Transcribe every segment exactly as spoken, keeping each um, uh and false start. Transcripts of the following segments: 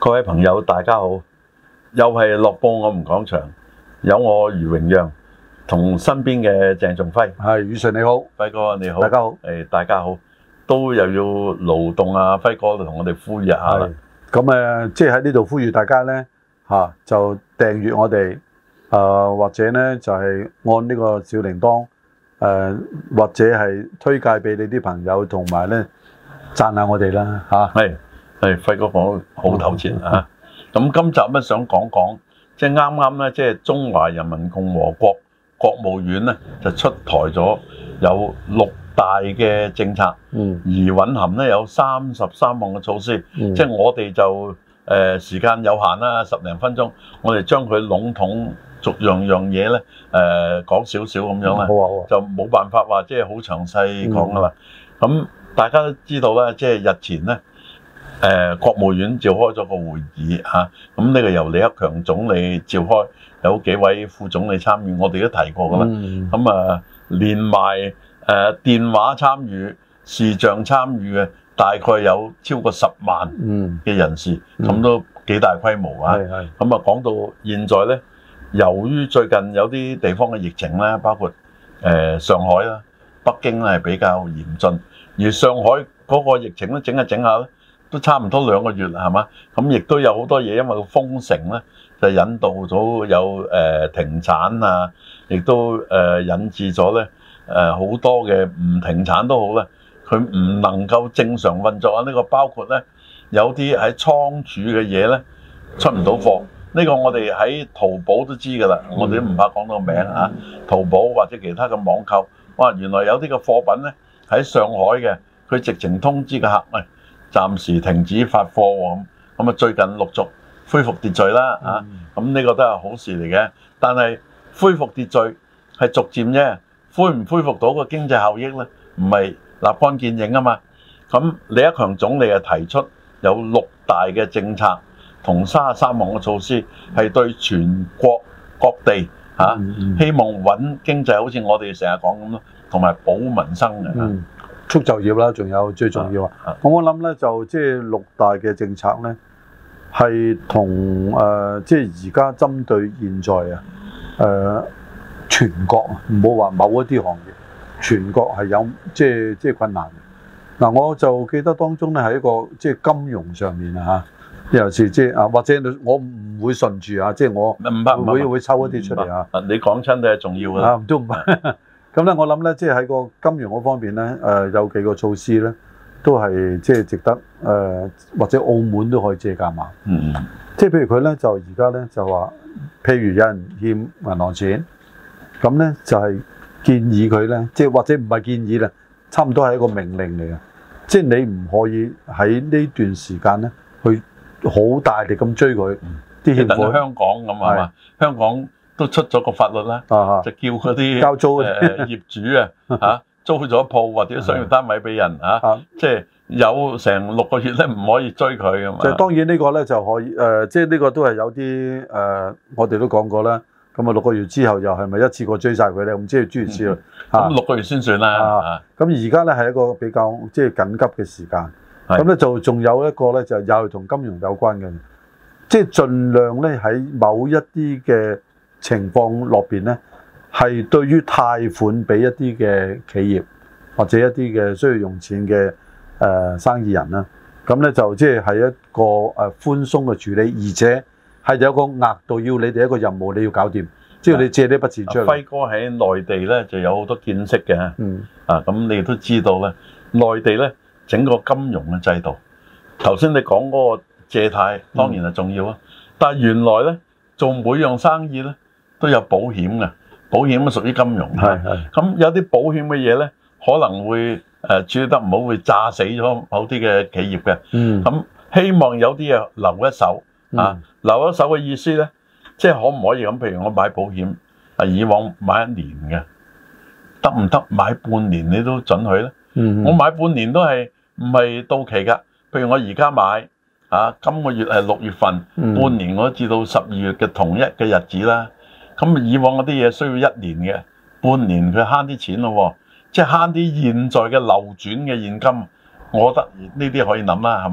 各位朋友，大家好！又係樂報我們講場，有我余榮讓同身邊嘅鄭仲輝。 係余 Sir 你好， 輝哥你好， 大家好。 誒，大家好，都又要勞動啊！輝哥同我哋呼籲一下啦。 咁誒，即係喺呢度呼籲大家咧嚇、啊，就訂閱我哋誒、呃，或者咧就係、是、按呢個小鈴鐺誒、呃，或者係推介俾你啲朋友，同埋咧讚下我哋啦嚇。 係、啊、係，輝哥講好頭前啊！咁今集咧想講講，即係啱啱咧，即係中華人民共和國國務院咧就出台咗有六大嘅政策，嗯，而蘊含咧有三十三項嘅措施，嗯、即係我哋就誒、呃、時間有限啦，十零分鐘，我哋將佢籠統逐樣樣嘢咧誒講少少咁樣啦，好啊好啊，就冇辦法話即係好詳細講噶啦。咁、嗯、大家都知道咧，即係日前咧。誒、呃、國務院召開咗個會議嚇，咁、啊、呢、這個由李克強總理召開，有幾位副總理參與，我哋都提過噶啦。咁、嗯、啊，連埋誒、呃、電話參與、視像參與嘅，大概有超過十萬嘅人士，咁、嗯、都幾大規模啊。咁、嗯、啊，講到現在咧，由於最近有啲地方嘅疫情咧，包括誒、呃、上海啦、北京咧係比較嚴峻，而上海嗰個疫情咧整下整下咧。都差唔多兩個月啦，係嘛？咁亦都有好多嘢，因為封城咧，就引導咗有誒、呃、停產啊，亦都誒、呃、引致咗咧誒好多嘅唔停產都好咧，佢唔能夠正常運作啊！呢、這個包括咧有啲喺倉儲嘅嘢咧出唔到貨，呢、這個我哋喺淘寶都知㗎啦，我哋都唔怕講到名啊！淘寶或者其他嘅網購，哇！原來有啲嘅貨品咧喺上海嘅，佢直情通知個客喂。暫時停止發貨喎，咁啊最近陸續恢復秩序啦，啊咁呢個都係好事嚟嘅。但係恢復秩序係逐漸啫，恢唔恢復到個經濟效益咧，唔係立竿見影啊嘛。咁李克強總理啊提出有六大嘅政策同三十三項嘅措施，係對全國各地嚇希望穩經濟，好似我哋成日講咁咯，同埋保民生嘅。嗯促就業啦，仲有最重要啊！咁、啊、我諗咧，就即係六大嘅政策咧，係同誒即係而家針對現在啊誒、呃、全國唔好話某一啲行業，全國係有即係即係困難嘅。嗱、啊，我就記得當中咧係一個即係金融上面啊嚇，尤其是即係啊，或者我唔會順住啊，即係我唔會會，會抽一啲出嚟啊。你講親都係重要嘅啊，都唔係。咁咧，我諗咧，即係喺個金融嗰方面咧，誒、呃、有幾個措施咧，都係即係值得誒、呃，或者澳門都可以借鑑下。嗯，即係譬如佢咧，就而家咧就話，譬如有人欠銀行錢，咁咧就係、是、建議佢咧，即係或者唔係建議啦，差唔多係一個命令嚟嘅，即係你唔可以喺呢段時間咧，去好大力咁追佢啲欠款。等香港咁係嘛？香港。都出咗個法律啦、啊，就叫嗰啲交租誒、呃、業主啊嚇租咗鋪或者商業單位俾人嚇，即、啊、係、就是、有成六個月咧唔可以追佢㗎嘛。就當然呢個咧就可以誒，即係呢個都係有啲誒、呃，我哋都講過啦。咁啊六個月之後又係咪一次過追晒佢咧？咁即係諸如此類。咁、嗯啊、六個月先算啦。咁而家咧係一個比較即係緊急嘅時間。咁咧就仲有一個咧就又係同金融有關嘅，即係盡量咧喺某一啲嘅情況落邊咧，係對於貸款俾一啲嘅企業或者一啲嘅需要用錢嘅誒、呃、生意人啦，咁咧就即係係一個誒寬鬆嘅處理，而且係有個額度要你哋一個任務你要搞掂，即係你借呢筆錢出嚟。輝哥喺內地咧就有好多見識嘅，嗯啊咁你都知道咧，內地咧整個金融嘅制度，頭先你講嗰個借貸當然係重要啊、嗯，但係原來咧做每樣生意咧，都有保險嘅，保險都屬於金融。係係。咁有啲保險嘅嘢咧，可能會誒處理得唔好，會炸死咗某啲嘅企業嘅。嗯。咁希望有啲嘢留一手啊，留一手嘅意思咧，即係可唔可以咁？譬如我買保險，啊以往買一年嘅，得唔得買半年你都準許咧？嗯。我買半年都係唔係到期㗎？譬如我而家買啊，今個月係六月份，嗯、半年我都至到十二月嘅同一嘅日子啦。咁以往嗰啲嘢需要一年嘅，半年佢慳啲錢咯，即係慳啲現在嘅流轉嘅現金，我覺得呢啲可以諗啦，係嘛？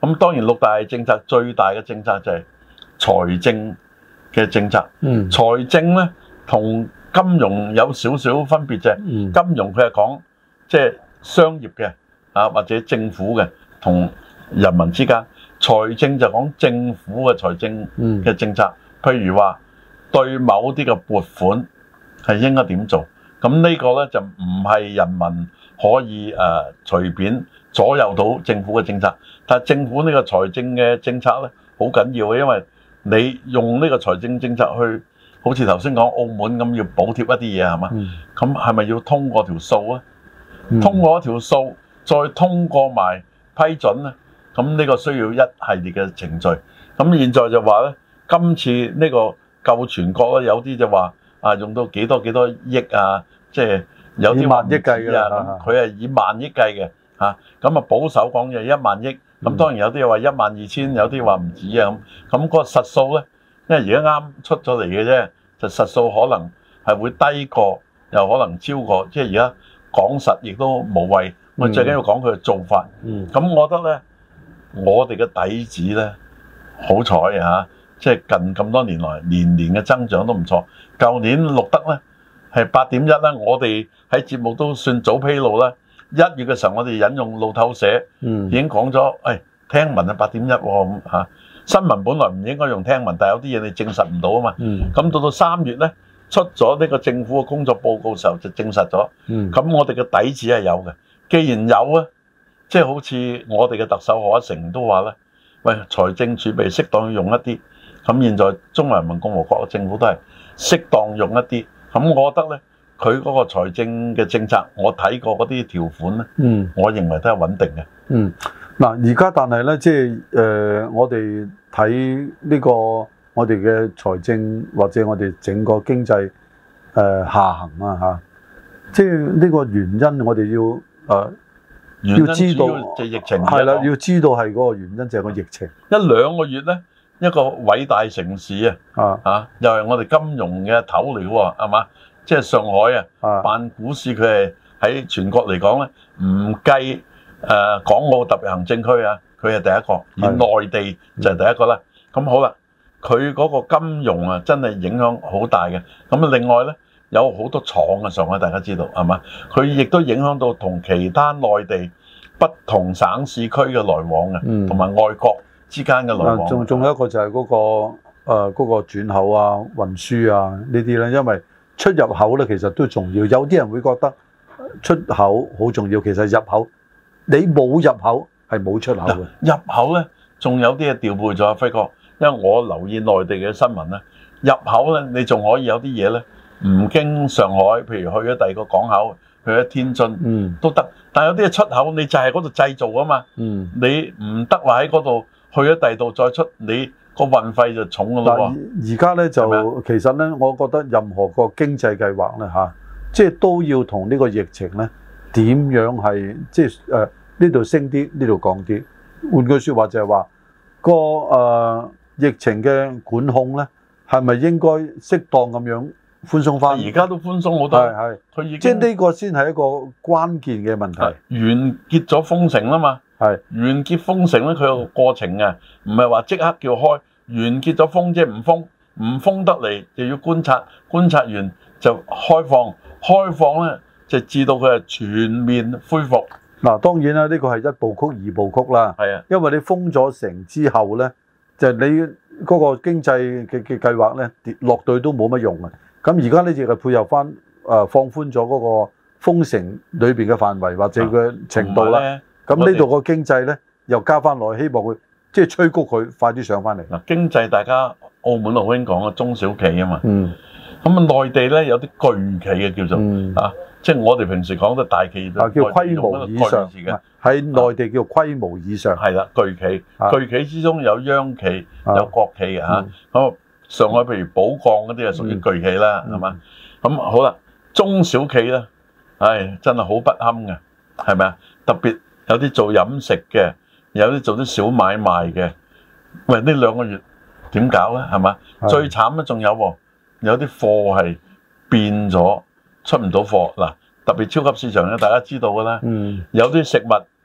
咁當然六大政策最大嘅政策就係財政嘅政策。 嗯， 財政咧同金融有少少分別啫。 嗯， 金融佢係講即係商業嘅啊，或者政府嘅同人民之間。財政就講政府嘅財政嘅政策，譬如話對某啲嘅撥款係應該點做。咁呢個咧就唔係人民可以誒、呃、隨便左右到政府嘅政策。但係政府呢個財政嘅政策咧好緊要嘅，因為你用呢個財政政策去，好似頭先講澳門咁要補貼一啲嘢係嘛？咁係咪要通過條數啊？嗯、通過一條數，再通過埋批准咧？咁呢個需要一系列嘅程序。咁現在就話咧，今次呢個救全國咧，有啲就話啊用到幾多幾多億啊，即係有啲萬億計㗎啊。咁佢係以萬億計嘅嚇。咁啊保守講就一萬億。咁當然有啲又話一萬二千，有啲話唔止啊咁。咁嗰個實數咧，因為而家啱出咗嚟嘅啫，就實數可能係會低過，又可能超過。即係而家講實亦都無謂。我最緊要講佢嘅做法。嗯。咁我覺得咧。我哋嘅底子咧，好彩啊！即係近咁多年來，年年嘅增長都唔錯。舊年錄得咧係八點一啦，我哋喺節目都算早披露啦。一月嘅時候，我哋引用路透社已經講咗，誒、哎、聽聞係八點一喎咁嚇。新聞本來唔應該用聽聞，但係有啲嘢你證實唔到啊嘛。咁到到三月咧，出咗呢個政府嘅工作報告時候就證實咗。咁我哋嘅底子係有嘅。既然有啊。即係好似我哋嘅特首賀一誠都話咧，喂，財政儲備適當用一啲，咁現在中華人民共和國嘅政府都係適當用一啲，咁我覺得咧，佢嗰個財政嘅政策，我睇過嗰啲條款咧，嗯，我認為都係穩定嘅。嗯， 嗱，而家但係咧，即係誒，我哋睇呢個我哋嘅財政或者我哋整個經濟誒、呃、下行啊嚇，即係呢個原因，我哋要誒。呃要知道就疫情係啦，要知道係嗰個原因就係個疫情。 一兩個月咧，一個偉大城市啊，啊，又係我哋金融嘅頭嚟喎，係嘛？即係上海啊，辦股市佢係喺全國嚟講咧，唔計誒港澳特別行政區啊，佢係第一個，而內地就係第一個啦。咁好啦，佢嗰個金融啊，真係影響好大嘅。咁啊，另外咧。有好多廠嘅上海，大家知道係嘛？佢亦都影響到同其他內地不同省市區嘅來往嘅，同埋、嗯、外國之間嘅來往。 仲仲有一個就係嗰、嗰個誒嗰、呃嗰個轉口啊、運輸啊呢啲咧，因為出入口咧其實都重要。有啲人會覺得出口好重要，其實入口你冇入口係冇出口嘅。 入口咧仲有啲嘢調配咗，輝哥，因為我留意內地嘅新聞咧，入口咧你仲可以有啲嘢咧。唔經上海，譬如去咗第二個港口，去咗天津，嗯，都得。但係有啲嘢出口，你就係嗰度製造啊嘛，嗯，你唔得話喺嗰度去咗第二度再出，你個運費就重㗎咯喎。 而家咧就其實咧，我覺得任何個經濟計劃咧嚇，即係都要同呢個疫情咧點樣係即係誒呢度升啲，呢度降啲。換句説話就係話個誒疫情嘅管控咧，係咪應該適當咁樣？寬鬆翻， 而家都寬鬆好多， 係係，佢已經即係呢個先係一個關鍵嘅問題。 完結咗封城啦嘛，係完結封城咧，佢有個過程啊，唔係話即刻叫開，完結咗封即係唔封，唔封得嚟就要觀察，觀察完就開放，開放咧就至到佢係全面恢復。 嗱，當然啦，呢個係一部曲、二部曲啦，係啊，因為你封咗城之後咧，就係你嗰個經濟嘅嘅計劃咧跌落對都冇乜用啊。咁而家呢亦係配合翻誒放寬咗嗰個封城裏邊嘅範圍或者嘅程度啦。咁呢度個經濟咧又加翻落去，希望佢即係催谷佢快啲上翻嚟。 嗱，經濟大家澳門好興講嘅中小企啊嘛。嗯。咁啊，內地咧有啲巨企嘅叫做、嗯、啊，即係我哋平時講嘅大企業。 啊，叫規模以上。喺內地叫規模以上。 係啦、啊，巨企。啊、巨企之中有央企、啊、有國企嘅嚇。咁、啊。嗯上海譬如寶鋼嗰啲係屬於巨企啦，係嘛？咁好啦，中小企咧，唉，真係好不堪嘅，係咪啊？特別有啲做飲食嘅，有啲做啲小買賣嘅，喂，呢兩個月點搞咧？係嘛？最慘咧，仲有喎，有啲貨係變咗出唔到貨嗱，特別超級市場咧，大家知道㗎啦，有啲食物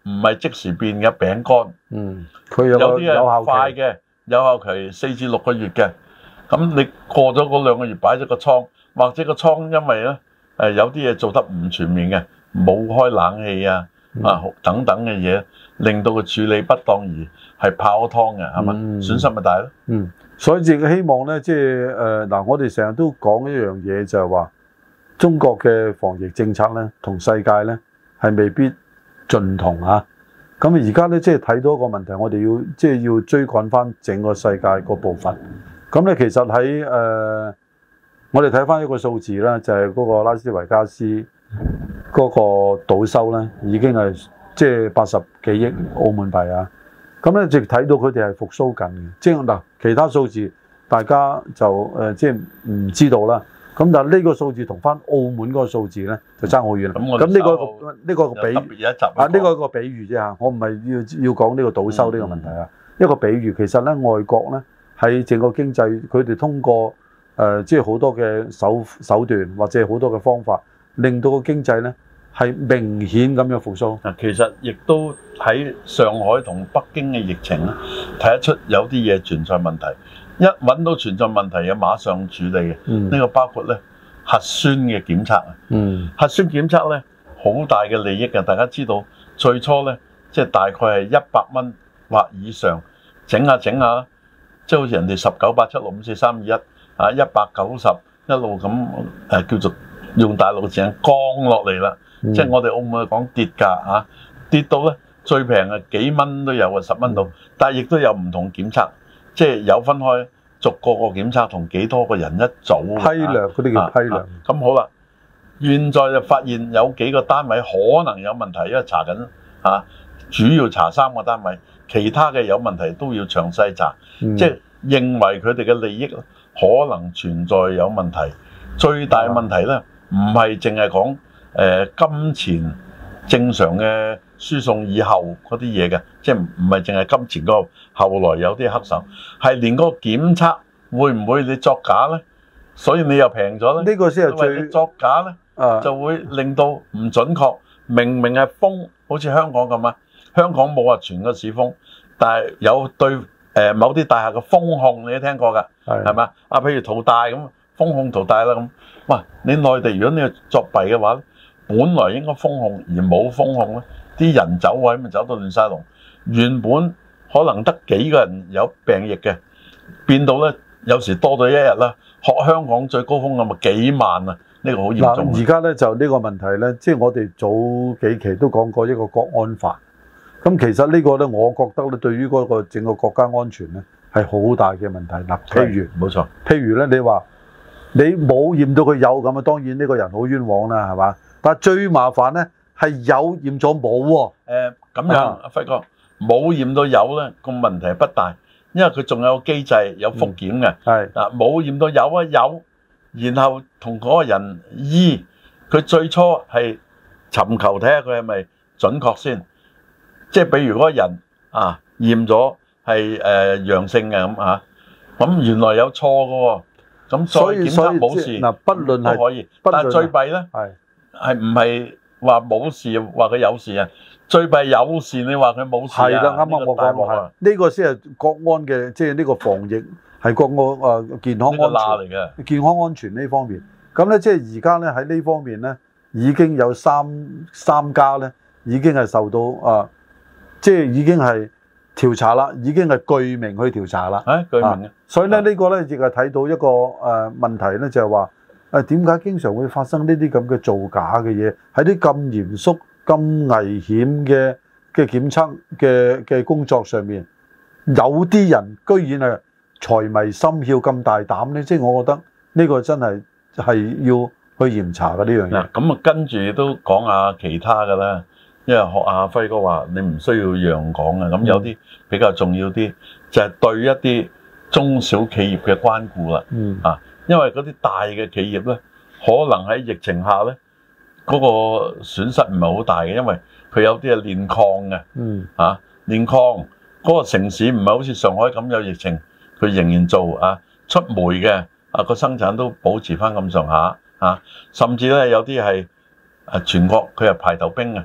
唔係即時變嘅餅乾。 嗯，佢有有啲係係快嘅，有效期四至六個月嘅。咁你過咗嗰兩個月擺咗個倉，或者個倉因為咧誒有啲嘢做得唔全面嘅，冇開冷氣啊啊等等嘅嘢，令到佢處理不當而係泡湯嘅，係嘛？損失咪大咯。 嗯，所以亦希望咧，即係誒嗱，我哋成日都講一樣嘢，就係話中國嘅防疫政策咧，同世界咧係未必盡同啊。咁而家咧，即係睇到一個問題，我哋要即係要追趕翻整個世界個部分。咁咧，其實喺誒、呃，我哋睇翻一個數字啦，就係、是、嗰個拉斯維加斯嗰個賭收咧，已經係即係八十幾億澳門幣啊。咁咧，直睇到佢哋係復甦緊嘅。即係嗱，其他數字大家就誒、呃、即係唔知道啦。咁但係呢個數字同翻澳門嗰個數字咧就爭好遠啦。咁呢、這個呢、這個比啊呢、這個一個比喻啫嚇，我唔係要要講呢個賭收呢個問題啊。嗯、一個比喻，其實咧外國咧喺整個經濟，佢哋通過誒、呃、即係好多嘅手手段或者好多嘅方法，令到個經濟咧係明顯咁樣復甦。 嗱，其實亦都喺上海同北京嘅疫情咧睇得出有啲嘢存在問題。一揾到存在問題嘅，馬上處理嘅。呢、嗯、個包括咧核酸嘅檢測啊。嗯、核酸檢測咧好大嘅利益嘅，大家知道最初咧即係大概係一百蚊或以上，整下整下，即係好似人哋十九八七六五四三二一啊，一百九十一路咁誒叫做用大陸嘅字眼降落嚟啦。嗯、即係我哋澳門講跌價啊，跌到咧最平係幾蚊都有啊，十蚊到，但係亦都有唔同檢測。即係有分開逐個個檢測同幾多個人一組批量嗰啲叫批量。 咁、啊啊、好啦，現在就發現有幾個單位可能有問題，因為查緊嚇、啊，主要查三個單位，其他嘅有問題都要詳細查。嗯、即係認為佢哋嘅利益可能存在有問題。最大嘅問題咧，唔係淨係講誒金錢正常嘅輸送以後嗰啲嘢嘅，即係唔係淨係金錢嗰個，後來有啲黑手，係連嗰個檢測會唔會你作假咧？所以你又平咗咧？ 呢個先係最因為你作假咧，啊、就會令到唔準確。明明係封，好似香港咁啊，香港冇話全個市封，但係有對誒某啲大廈嘅封控，你都聽過㗎，係嘛？啊，譬如淘大咁，封控淘大啦咁。哇！你內地如果你係作弊嘅話咧，本來應該封控而冇封控咧，啲人走位咪走到亂晒龍。原本可能得幾個人有病疫嘅，變到咧有時多咗一日啦。學香港最高峰咁咪幾萬啊！呢、這個好嚴重。 而家咧就呢個問題咧，即、就、係、是、我哋早幾期都講過一個國安法。咁其實呢個咧，我覺得咧對於嗰個整個國家安全咧係好大嘅問題。嗱，譬如冇錯，譬如咧你話你冇驗到佢有咁啊，當然呢個人好冤枉啦，係嘛？但係最麻煩咧係有驗咗冇喎。誒咁樣，阿輝哥冇驗到有咧，個問題不大，因為佢仲有個機制有復檢嘅。係嗱、嗯，冇驗到有啊有，然後同嗰個人醫，佢最初係尋求睇下佢係咪準確先。即係比如嗰個人啊驗咗係誒陽性嘅咁啊，咁原來有錯嘅喎，咁再檢測冇事， 嗱，不論係都可以。但係最弊咧係係唔係話冇事，話佢有事啊？最弊有事，你話佢冇事啊？係啦，啱啱我講過係呢個先係國安嘅，即係呢個防疫係國安誒健康安全嚟嘅，健康安全呢方面。咁咧即係而家咧喺呢方面咧已經有三三家咧已經係受到啊。即係已經係調查啦，已經係具名去調查啦。誒，具名嘅。所以咧，呢個咧亦係睇到一個誒問題咧，就係話誒點解經常會發生呢啲咁嘅造假嘅嘢？喺啲咁嚴肅、咁危險嘅嘅檢測嘅嘅工作上面，有啲人居然係財迷心竅咁大膽咧，即係我覺得呢個真係係要去嚴查嘅呢樣嘢。嗱，咁啊跟住都講下其他嘅啦。因為學阿輝哥話，你唔需要樣講嘅，咁有啲比較重要啲，就係對一啲中小企業嘅關顧啦。嗯啊，因為嗰啲大嘅企業咧，可能喺疫情下咧，嗰個損失唔係好大嘅，因為佢有啲係煉礦嘅。嗯啊，煉礦嗰個城市唔係好似上海咁有疫情，佢仍然做啊，出煤嘅啊個生產都保持翻咁上下啊，甚至咧有啲係啊全國佢係排頭兵嘅。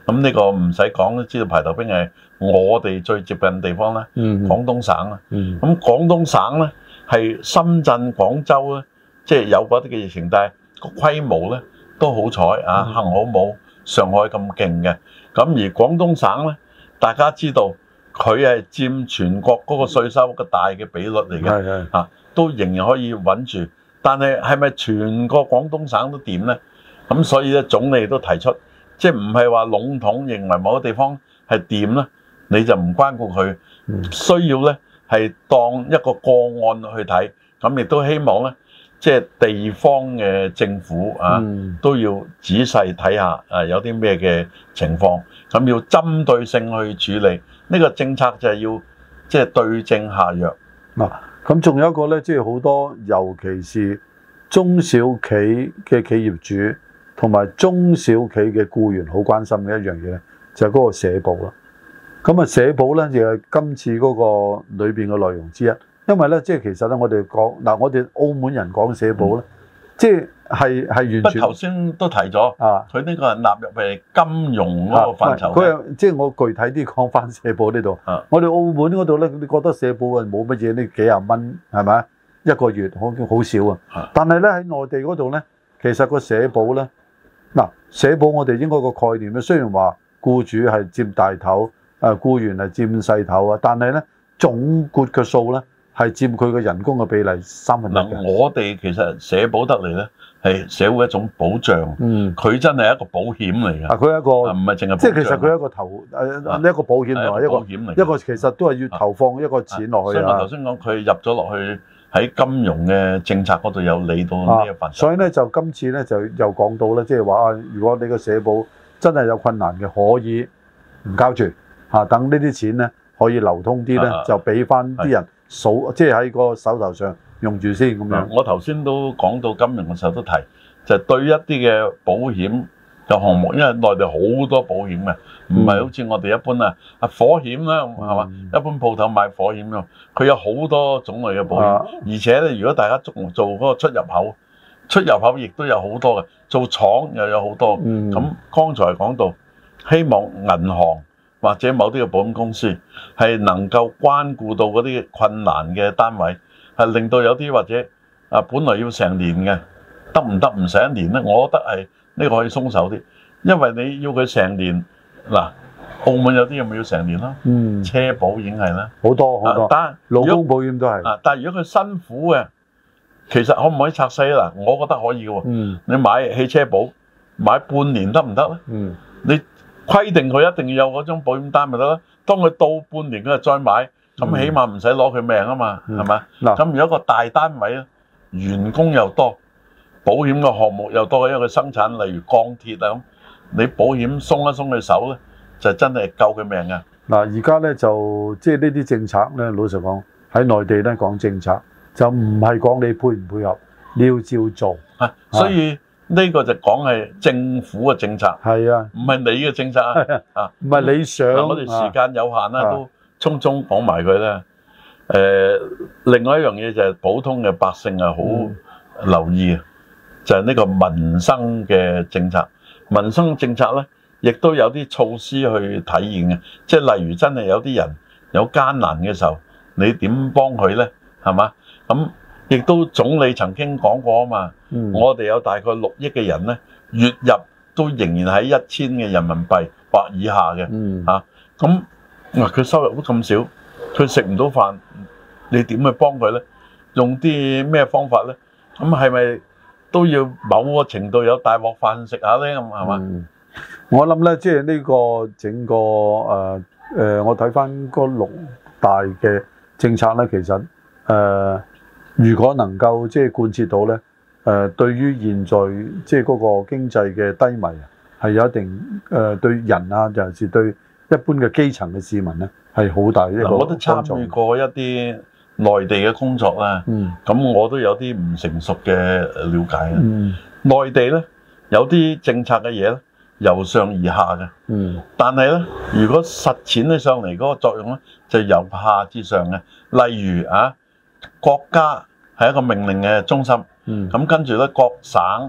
咁呢個唔使講都知道，排頭兵係我哋最接近嘅地方啦， 嗯， 廣東省啊。咁、 嗯、 廣東省咧係深圳、廣州咧，即係有嗰啲嘅疫情，但係個規模咧都好彩啊，幸好冇上海咁勁嘅。咁而廣東省咧，大家知道佢係佔全國嗰個稅收嘅大嘅比率嚟嘅，係係啊，都仍然可以穩住。但係係咪全個廣東省都掂咧？咁所以咧，總理都提出，即係唔係話籠統認為某個地方係掂咧，你就唔關顧佢，需要咧係當一個個案去睇。咁亦都希望咧，即係地方嘅政府啊，嗯、都要仔細睇下啊，有啲咩嘅情況，咁要針對性去處理。呢、這個政策就係要即係對症下藥。 嗱、啊，咁仲有一個咧，即係好多，尤其是中小企嘅企業主同埋中小企嘅僱員好關心嘅一樣嘢咧，就係、是、嗰個社保啦。咁啊，社保咧就係今次嗰個裏邊嘅內容之一。因為咧，即係其實咧，我哋講嗱，我哋澳門人講社保咧，嗯、即係係係完全。不頭先都提咗啊，佢呢個係納入係金融嗰個範疇。 佢係即係我具體啲講翻社保呢度。啊、我哋澳門嗰度咧，你覺得社保係冇乜嘢呢？幾廿蚊係咪一個月好好少啊？啊但係咧喺內地嗰度咧，其實個社保咧，嗱社保我哋應該個概念咧，雖然話僱主係佔大頭，誒僱員係佔細頭啊，但係咧總括嘅數咧。係佔佢嘅人工嘅比例三分一嘅。嗱，我哋其實社保得嚟咧，係社會一種保障。嗯，佢真係一個保險嚟嘅。啊，佢一個唔係淨係，即係其實佢一個投誒一個保險同埋一個保險嚟。一個其實都係要投放一個錢落去啊。所以我頭先講佢入咗落去喺金融嘅政策嗰度有理到呢一份。所以咧就今次咧就又講到咧，即係話啊，如果你個社保真係有困難嘅，可以唔交住嚇，等呢啲錢咧可以流通啲咧，就俾翻啲人。數即係喺個手頭上用住先咁樣。我頭先都講到金融嘅時候都提，就係、對一啲嘅保險嘅項目，因為內地好多保險嘅，唔係好似我哋一般啊啊火險啦，係嘛？嗯、一般鋪頭買火險咯，佢有好多種類嘅保險，啊、而且咧，如果大家做做嗰個出入口，出入口亦都有好多嘅，做廠又有好多。咁剛、嗯、才講到，希望銀行。或者某啲嘅保險公司係能夠關顧到嗰啲困難嘅單位，係令到有啲或者啊本來要成年嘅，得唔得唔使一年咧？我覺得係呢個可以鬆手啲，因為你要佢成年嗱，澳門有啲有冇要成年咯？嗯，車保已經係啦，好多好多，但勞工保險都係啊。但係如果佢辛苦嘅，其實可唔可以拆細咧？嗱，我覺得可以嘅喎。嗯，你買汽車保買半年得唔得咧？嗯，你。規定佢一定要有嗰張保險單咪得咯，當佢到半年佢就再買，咁起碼唔使攞佢命啊嘛，係咪？嗱，咁如果個大單位咧，員工又多，保險嘅項目又多，因為佢生產例如鋼鐵啊咁，你保險鬆一鬆佢手咧，就真係救佢命啊！嗱，而家咧就即係呢啲政策咧，老實講喺內地咧講政策就唔係講你配唔配合，你要照做啊，所以。呢個就講係政府嘅政策，係啊，唔係你嘅政策啊，啊，唔係你想。我哋時間有限啦，都匆匆講埋佢啦。誒，另外一樣嘢就係普通嘅百姓啊，好留意啊，就係呢個民生嘅政策。民生政策咧，亦都有啲措施去體現嘅，即係例如真係有啲人有艱難嘅時候，你點幫佢咧？係嘛？咁。亦都總理曾經講過啊嘛，嗯、我哋有大概六億嘅人咧，月入都仍然喺一千嘅人民幣或以下嘅，嚇咁嗱佢收入都咁少，佢食唔到飯，你點去幫佢咧？用啲咩方法咧？咁係咪都要某個程度有大鑊飯食下咧？咁係嘛？我諗咧，即係呢個整個誒誒、呃呃，我睇翻嗰六大嘅政策咧，其實誒。呃如果能夠即係貫徹到咧，誒、呃、對於現在即係嗰個經濟嘅低迷啊，係有一定誒、呃、對人啊，尤其是對一般嘅基層嘅市民咧，係好大一個幫助。我都參與過一啲內地嘅工作啦，咁、嗯、我都有啲唔成熟嘅了解啊。嗯、內地咧有啲政策嘅嘢咧，由上而下嘅，嗯、但係咧如果實踐起上嚟嗰個作用咧，就由下至上嘅。例如啊，國家係一個命令嘅中心，咁、嗯、跟住咧各省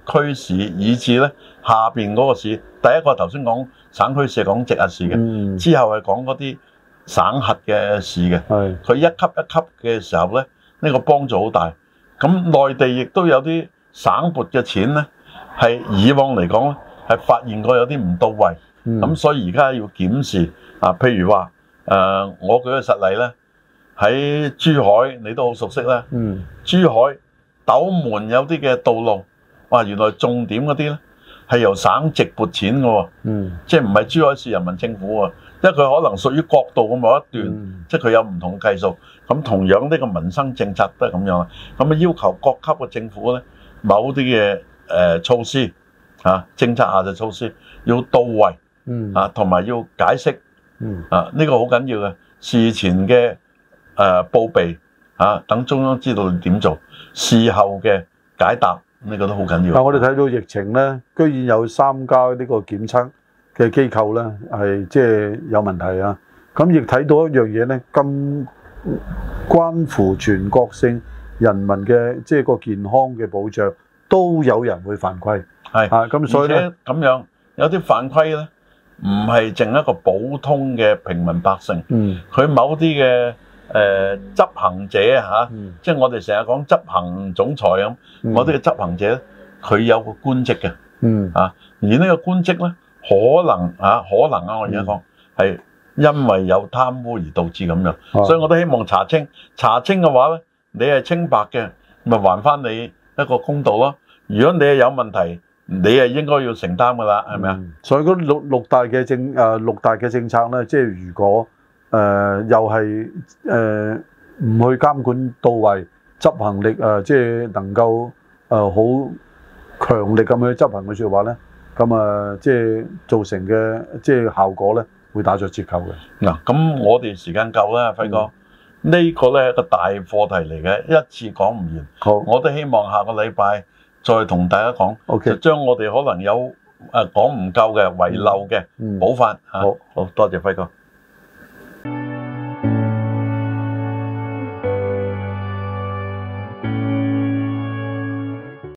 區市，以至咧下邊嗰個市。第一個頭先講省區市係講直轄市嘅， 嗯、之之後係講嗰啲省轄嘅市嘅。係佢一級一級嘅時候咧，呢、呢個幫助好大。咁內地亦都有啲省撥嘅錢咧，係以往嚟講咧係發現過有啲唔到位。咁、嗯、所以而家要檢視啊，譬如話誒、呃，我舉個實例咧，喺珠海你都好熟悉啦。嗯，珠海斗門有啲嘅道路，哇，原來重點嗰啲咧係由省直撥錢嘅喎。嗯，即係唔係珠海市人民政府喎？因為佢可能屬於國道嘅某一段，嗯、即係佢有唔同嘅計數。咁同樣呢個民生政策都係咁樣。咁啊要求各級嘅政府咧，某啲嘅誒措施啊，政策下嘅措施要到位。嗯啊，同埋要解釋，嗯啊，呢、這個好緊要嘅事前嘅誒、呃、報備啊，等中央知道你點做，事後嘅解答呢、這個都好緊要。 但我哋睇到疫情咧，居然有三家呢個檢測嘅機構咧係即係有問題啊！咁亦睇到一樣嘢咧，咁關乎全國性人民嘅即係個健康嘅保障，都有人會犯規。係啊，咁所以咧咁樣有啲犯規咧。唔係淨一個普通嘅平民百姓，佢、嗯、某啲嘅誒執行者嚇，啊嗯、即係我哋成日講執行總裁咁，嗰啲嘅執行者佢有個官職嘅，嗯、啊，而呢個官職咧可能啊，可能啊，我而家講係因為有貪污而導致咁樣，啊、所以我都希望查清，查清嘅話咧，你係清白嘅，咪還翻你一個公道咯。如果你係有問題，你係應該要承擔噶啦，係咪啊？ 所以嗰六六大嘅政誒六大嘅政策咧，即係如果誒、呃、又係誒唔去監管到位，執行力誒、呃、即係能夠誒好強力咁去執行嘅説話咧，咁啊即係造成嘅即係效果咧，會打咗折扣嘅。嗱， 咁我哋時間夠啦，輝哥，嗯、個呢個咧係個大課題嚟嘅，一次講唔完。好，我都希望下個禮拜再同大家講，okay. 就將我哋可能有誒講唔夠嘅遺漏嘅補翻嚇。好，好多謝輝哥。